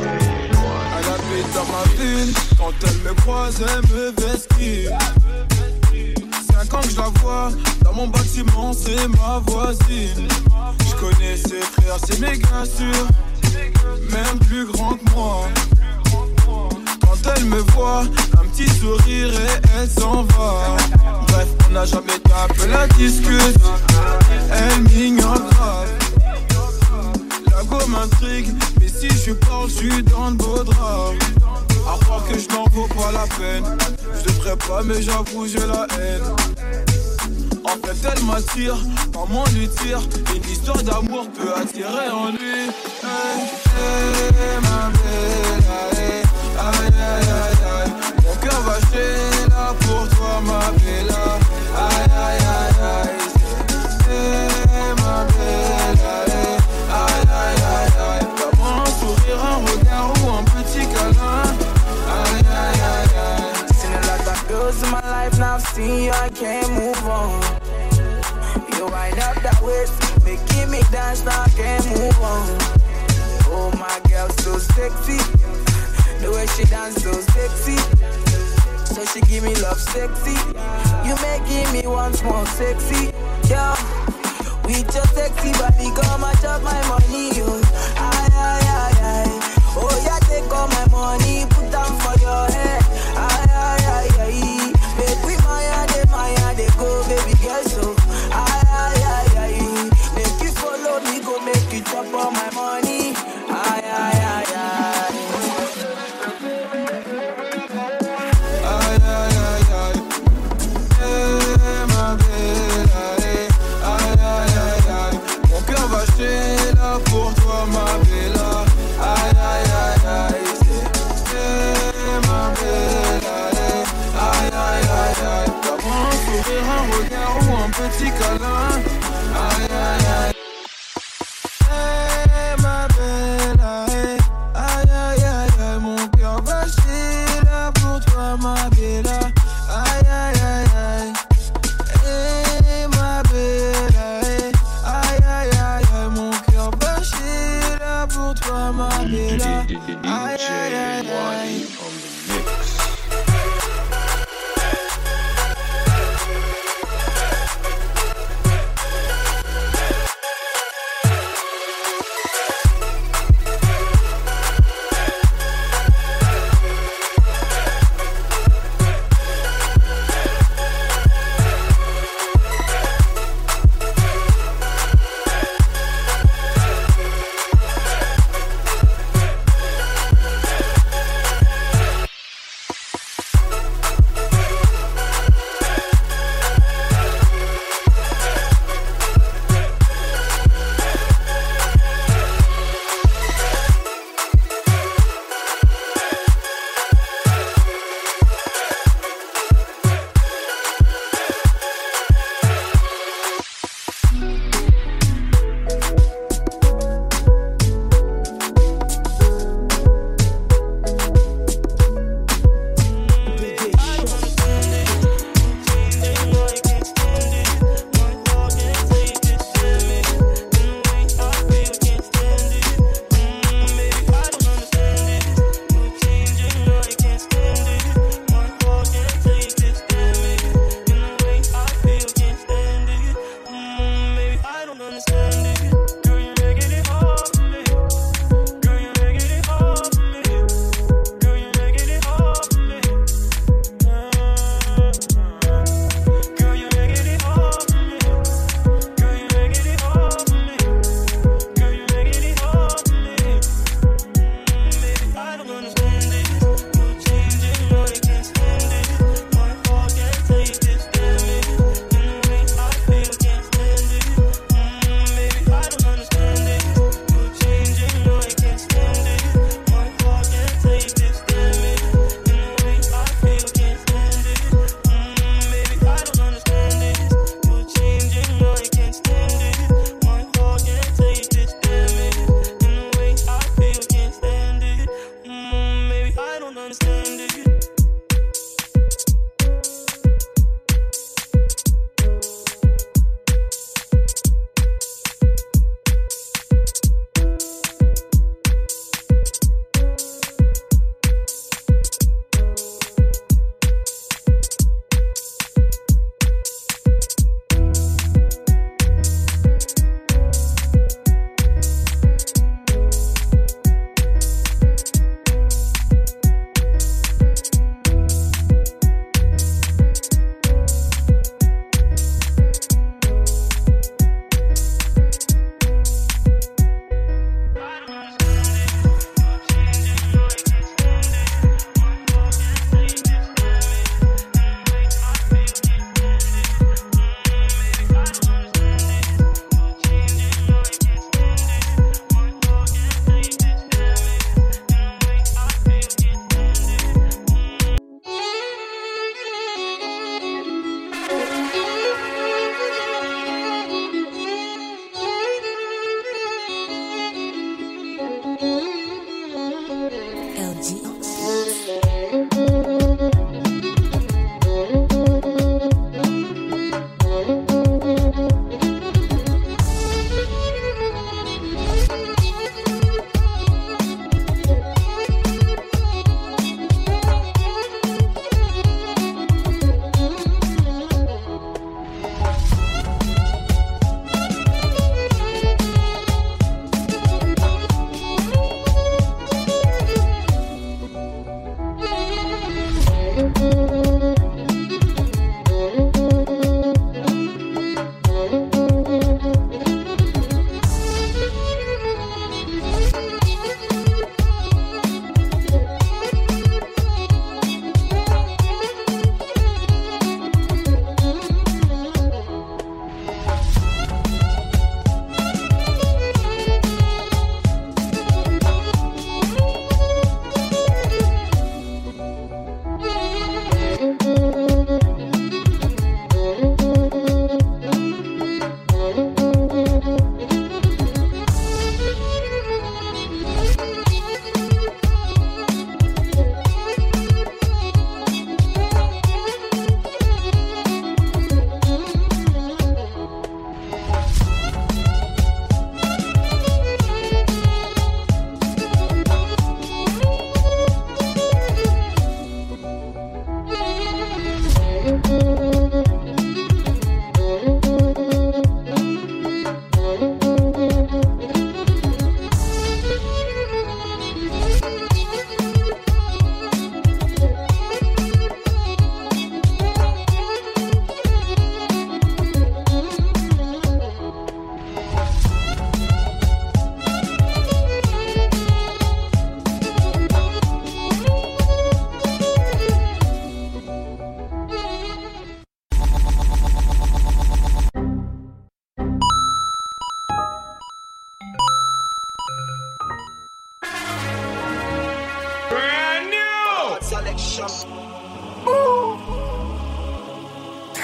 Quand elle me croise, elle me vestit. cinq ans que je la vois. Dans mon bâtiment, c'est ma voisine. Je connais ses frères, c'est méga sûr. Même plus grand que moi. Quand elle me voit, un petit sourire et elle s'en va. Bref, on n'a jamais tapé la discute. Elle m'ignore grave. La go m'intrigue, mais si je parle, je suis dans le beau drap. À croire que je n'en vaux pas la peine. Je devrais pas, mais j'avoue, j'ai la haine. En fait, elle m'attire, maman lui tire. Une histoire d'amour peut attirer en lui. Hey, hey, ma belle, hey, aïe, aïe, aïe, aïe. Mon cœur va chez là pour toi, ma belle. Aïe, aïe, aïe, aïe. Hey, ma belle, hey, aïe, aïe, aïe, aïe. D'abord un sourire, un regard ou un petit câlin. Aïe, aïe, aïe, aïe. Seen a lot of girls in my life, now I've seen you, I can't move on. You wind up that waist, making me dance, now I can't move on. Oh, my girl, so sexy. The way she dance, so sexy. So she give me love, sexy. You making me once more sexy. Yeah, with your sexy body, come and chop my money. Oh, aye, aye, aye, aye. Oh, yeah, take all my money, put down for your head. Aye, aye, aye, aye. Make we Maya, de Maya, de go, baby girl, so. Aye, aye, aye, aye. Make you follow me, go make you chop all my money. Aye, aye, aye, aye. Aïe, aïe, aïe, aïe. Hey, ma belle, aïe, aïe, aïe, aïe, aïe. Mon cœur va chez là pour toi,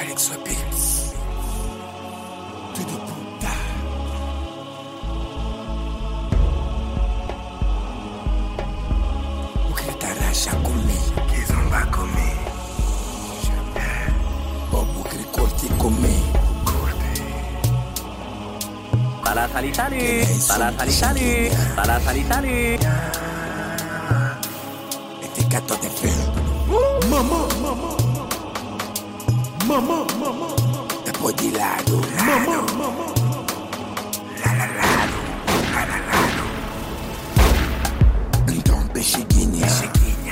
Alex Beats. Tudo puta. O que tarasha comigo? Que zomba comigo. Bobo que corte comigo. Salah salut salut, salah salut salut, salah salut salut. Este gato de fe. Mamá, mamá, mamá, mamá. Depois de lado, lado. La la lado, la la lado. Então peixiguinha, peixiguinha.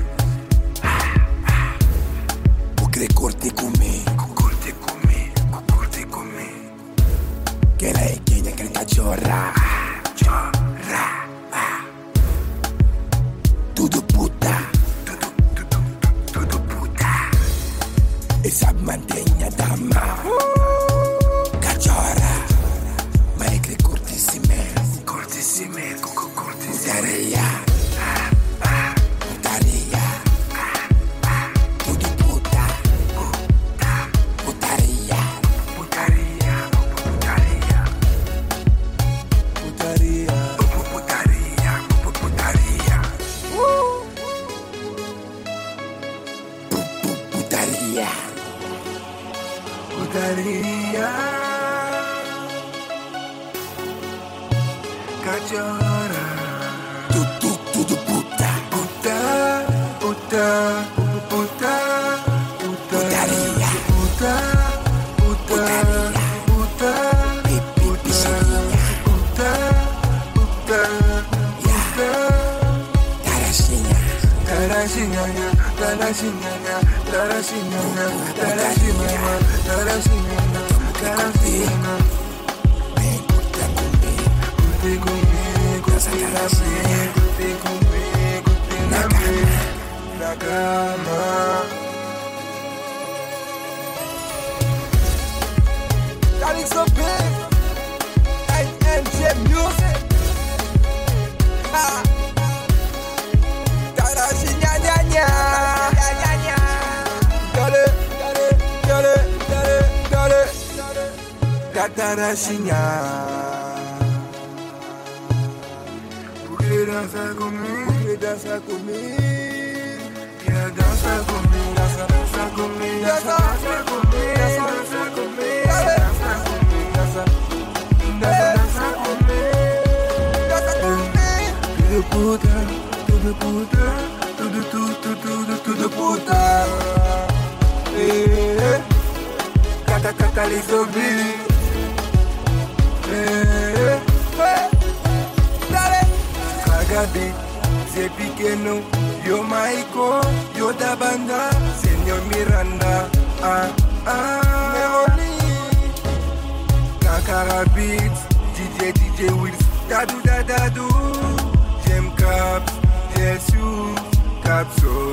O que corte comigo, corte comigo, corte comigo. Que la é quem decreta chorra, chorra. Tudo puta, tudo, tudo, tudo puta. E sabe mantenha dama, cachorra. Mas é que cortissime, cortissime, coco cortissime. Putaria, putaria. Tudo puta, puta, putaria, putaria, putaria. Putaria, putaria, putaria. Putaria. Putaria. Cachorra. Tudo, tudo puta. Puta, puta, puta, putaria. Puta, puta, puta, puta, puta, puta, puta. Tarashinha. Tarashinha, tarashinha, tarashinha, tarashinha, tarashinha, tarashinha. Vem, curta comigo, curte comigo, curte comigo, curte comigo, curte na cama, na cama. Alex Beats, A M G Music. Ah. Tarashinha, nya, nya. Dale, dale, dale, dale, dale. Da tarashinha. Quer dançar comigo, quer dançar comigo. Quer dançar comigo, dança, dança comigo, dança, dança comigo, dança, dança comigo, dança comigo, dança, dança, dança comigo, dança comigo. Tudo puta, tudo puta, tudo, tudo, tudo, tudo puta. Eh, cata, cata, lisobi. Eh, eh, dale. Kagabi, c'est pequeno. Yo Maiko, yo da banda, Senor Miranda. Ah, ah, Meroli. Kakara Beats, D J, D J Wills, Dadu, Dadu, Jem Caps, Jesu, Capso.